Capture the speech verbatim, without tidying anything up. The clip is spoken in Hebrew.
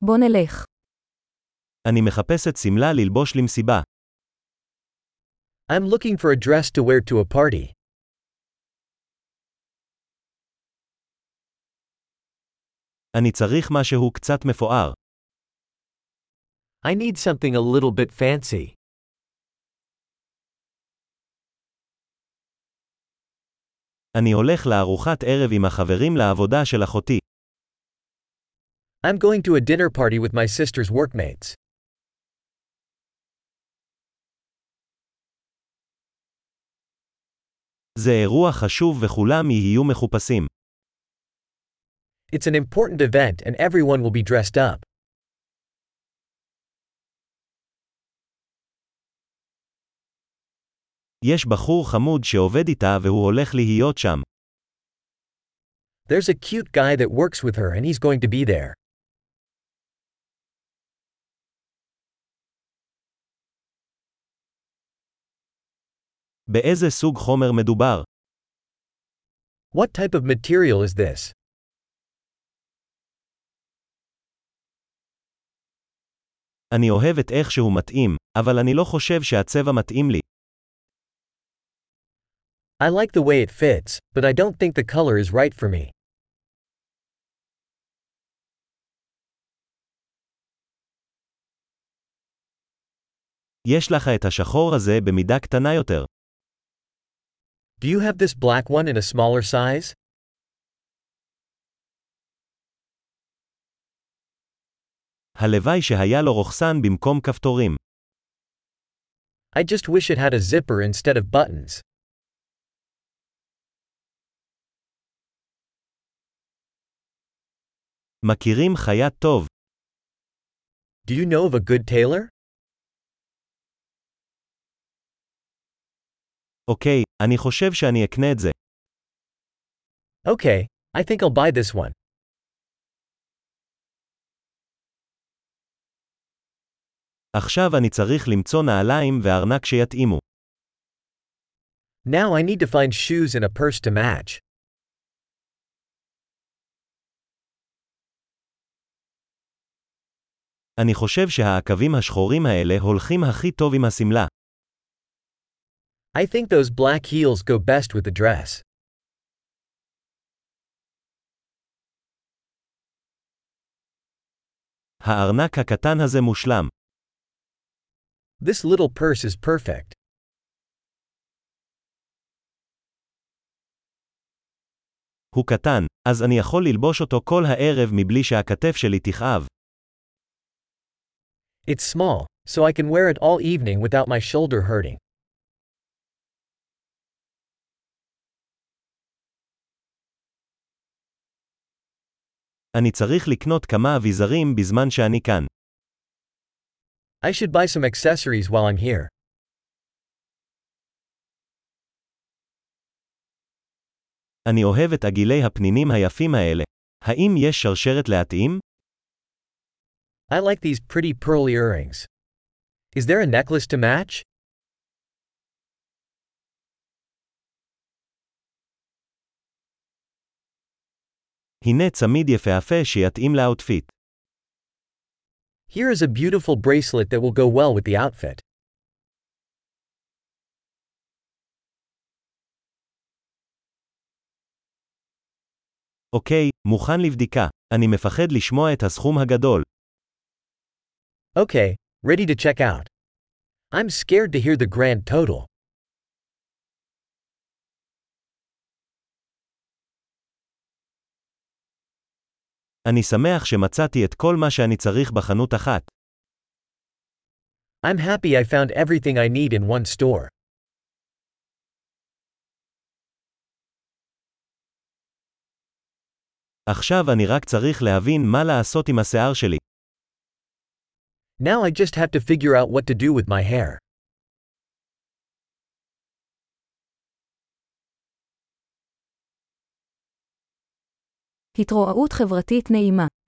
בוא נלך. אני מחפשת סמלה ללבוש למסיבה. I'm looking for a dress to wear to a party. אני צריך משהו קצת מפואר. I need something a little bit fancy. אני הולך לארוחת ערב עם החברים לעבודה של אחותי. I'm going to a dinner party with my sister's workmates. זה אירוע חשוב וכולם יהיו מחופשים. It's an important event and everyone will be dressed up. יש בחור חמוד שעובד איתה והוא הולך להיות שם. There's a cute guy that works with her and he's going to be there. באיזה סוג חומר מדובר? What type of material is this? אני אוהב את איך שהוא מתאים, אבל אני לא חושב שהצבע מתאים לי. I like the way it fits, but I don't think the color is right for me. יש לך את השחור הזה במידה קטנה יותר. Do you have this black one in a smaller size? הלוואי שהיה לו רוחסן במקום כפתורים. I just wish it had a zipper instead of buttons. מכירים חייט טוב. Do you know of a good tailor? אוקיי, אני חושב שאני אקנה את זה. Okay, I think I'll buy this one. עכשיו אני צריך למצוא נעליים וארנק שיתאימו. Now I need to find shoes and a purse to match. אני חושב שהעקבים השחורים האלה הולכים הכי טוב עם הסמלה. I think those black heels go best with the dress. הארנק הקטן הזה מושלם. This little purse is perfect. הוא קטן, אז אני יכול ללבוש אותו כל הערב מבלי שהכתף שלי תכאב. It's small, so I can wear it all evening without my shoulder hurting. אני צריך לקנות כמה אביזרים בזמן שאני כאן. I should buy some accessories while I'm here. אני אוהב את עגילי הפנינים היפים האלה. האם יש שרשרת להתאים? I like these pretty pearl earrings. Is there a necklace to match? הנה צמיד יפהפה שיתאים לאוטפיט. Here is a beautiful bracelet that will go well with the outfit. אוקיי, מוכן לבדיקה. אני מפחד לשמוע את הסכום הגדול. Okay, ready to check out. I'm scared to hear the grand total. אני שמח שמצאתי את כל מה שאני צריך בחנות אחת. I'm happy I found everything I need in one store. עכשיו אני רק צריך להבין מה לעשות עם השיער שלי. Now I just have to figure out what to do with my hair. התרועעות חברתית נעימה.